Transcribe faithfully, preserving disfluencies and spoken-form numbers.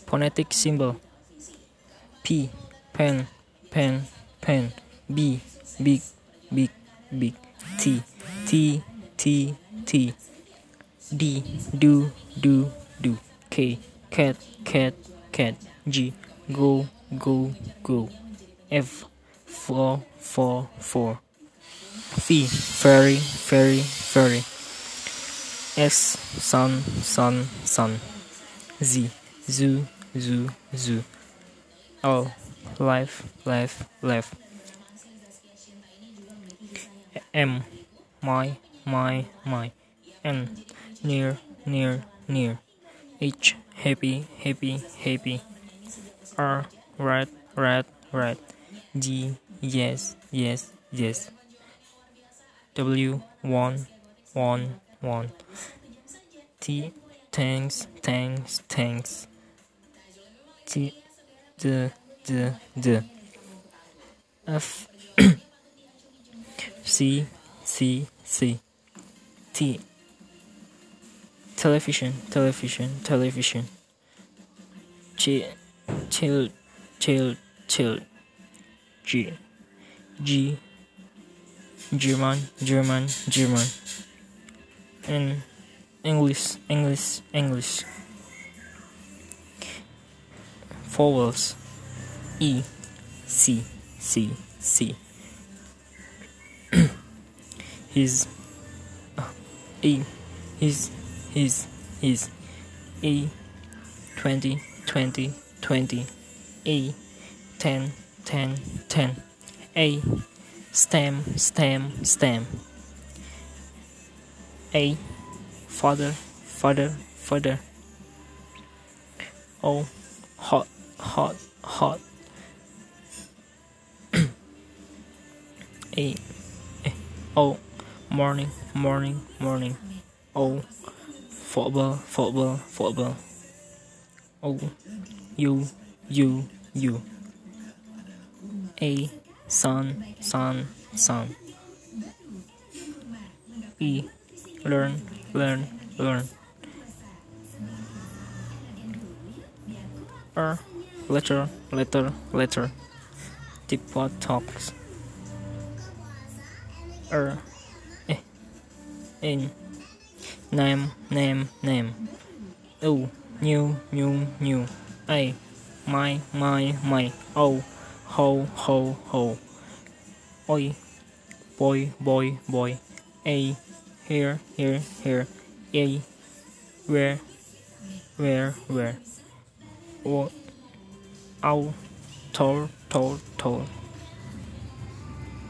Phonetic symbol. P, pen, pen, pen. B, big, big, big. T, T, T, T. D, do, do, do. K, cat, cat, cat. G, go, go, go. F, four, four, four. V, very, very, very. S, sun, sun, sun. Z, zoo, zoo, zoo. L, life, life, life. M, my, my, my. N, near, near, near. H, happy, happy, happy. R, right, right, right. G, yes, yes, yes. W, one, one, one. T, thanks, thanks, thanks. T, the, the, the. F, C, C, C. T, television, television, television. Ch, chill, chill, chill. G, G, German, German, German. And English, English, English. Vowels. E, C, C, C. His, uh, E, his, his, his. A, twenty, twenty, twenty. A, ten, ten, ten. A, stem, stem, stem. A, father, father, father. O, hot, hot, hot. A, O, morning, morning, morning. O, football, football, football. O, you, you, you. A, sun, sun, sun. E, learn, learn, learn. R, letter, letter, letter. Teapot talks. R, eh, in. Name, name, name. O, new, new, new. A, my, my, my. O, ho, ho, ho. Oi, boy, boy, boy. A, here, here, here. A, where, where, where. O, ow, tall, tall, tall.